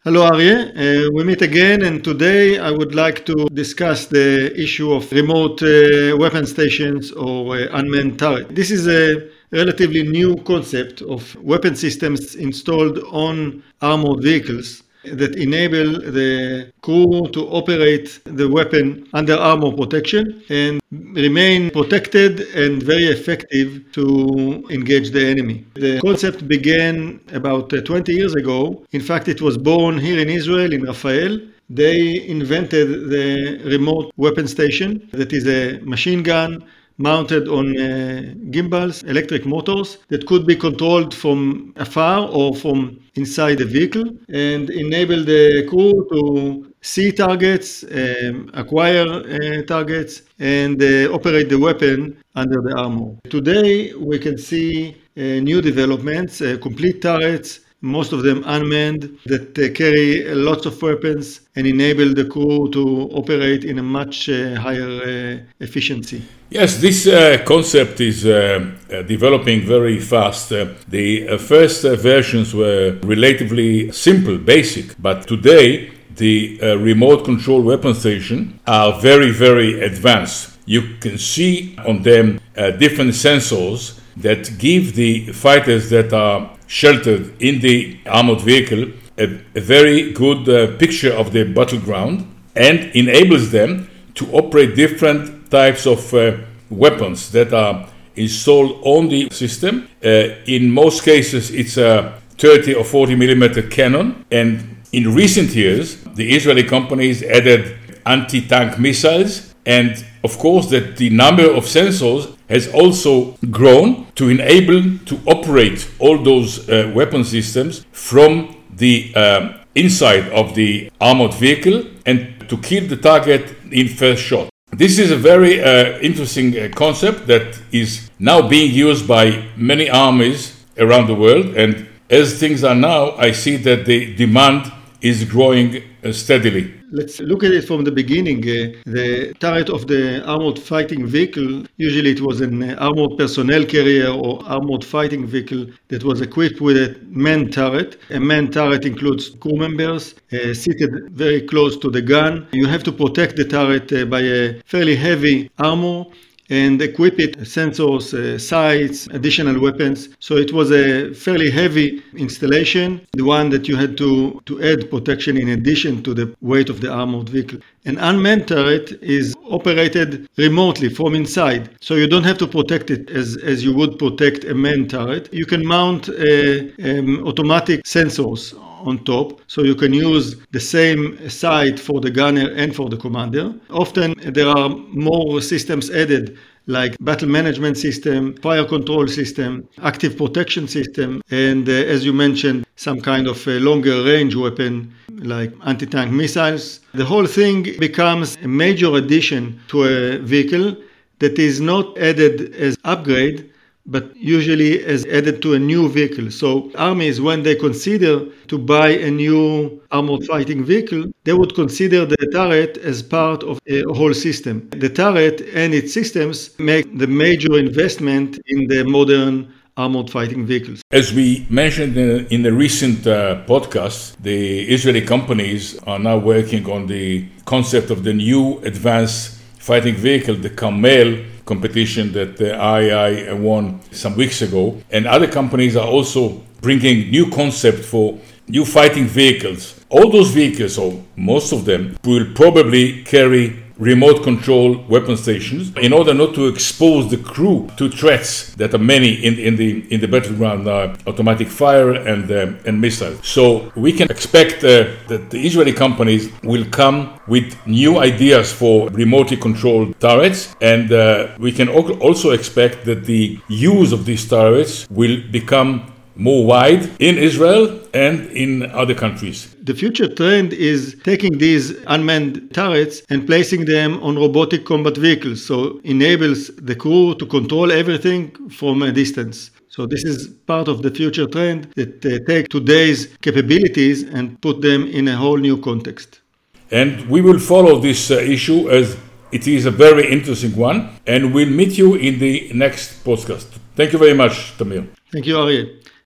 Hello, Aryeh. We meet again, and today I would like to discuss the issue of remote weapon stations or unmanned turret. This is a relatively new concept of weapon systems installed on armored vehicles that enable the crew to operate the weapon under armor protection and remain protected and very effective to engage the enemy. The concept began about 20 years ago. In fact, it was born here in Israel, in Rafael. They invented the remote weapon station that is a machine gun mounted on gimbals, electric motors that could be controlled from afar or from inside the vehicle and enable the crew to see targets, acquire targets, and operate the weapon under the armor. Today, we can see new developments, complete turrets, most of them unmanned, that carry lots of weapons and enable the crew to operate in a much higher efficiency. Yes, this concept is developing very fast. The first versions were relatively simple, basic, but today the remote control weapon station are very, very advanced. You can see on them different sensors that give the fighters that are sheltered in the armored vehicle a very good picture of the battleground and enables them to operate different types of weapons that are installed on the system. In most cases, it's a 30 or 40 millimeter cannon. And in recent years, the Israeli companies added anti-tank missiles. And of course, that the number of sensors has also grown to enable to operate all those weapon systems from the inside of the armored vehicle and to kill the target in first shot. This is a very interesting concept that is now being used by many armies around the world. And as things are now, I see that the demand is growing steadily. Let's look at it from the beginning. The turret of the armored fighting vehicle, usually it was an armored personnel carrier or armored fighting vehicle that was equipped with a manned turret. A manned turret includes crew members seated very close to the gun. You have to protect the turret by a fairly heavy armor and equip it sensors, sights, additional weapons. So it was a fairly heavy installation, the one that you had to add protection in addition to the weight of the armored vehicle. An unmanned turret is operated remotely from inside, so you don't have to protect it as you would protect a manned turret. You can mount automatic sensors on top, so you can use the same sight for the gunner and for the commander. Often there are more systems added, like battle management system, fire control system, active protection system, and as you mentioned, some kind of a longer range weapon like anti-tank missiles. The whole thing becomes a major addition to a vehicle that is not added as upgrade, but usually as added to a new vehicle. So armies, when they consider to buy a new armored fighting vehicle, they would consider the turret as part of a whole system. The turret and its systems make the major investment in the modern armored fighting vehicles. As we mentioned in the recent podcast, the Israeli companies are now working on the concept of the new advanced fighting vehicle, the Carmel competition that the IAI won some weeks ago. And other companies are also bringing new concept for new fighting vehicles. All those vehicles, or most of them, will probably carry remote control weapon stations in order not to expose the crew to threats that are many in the battleground, automatic fire and missiles. So we can expect that the Israeli companies will come with new ideas for remotely controlled turrets, and we can also expect that the use of these turrets will become more wide in Israel and in other countries. The future trend is taking these unmanned turrets and placing them on robotic combat vehicles, so enables the crew to control everything from a distance. So this is part of the future trend that take today's capabilities and put them in a whole new context. And we will follow this issue as it is a very interesting one, and we'll meet you in the next podcast. Thank you very much, Tamir. Thank you, Aryeh.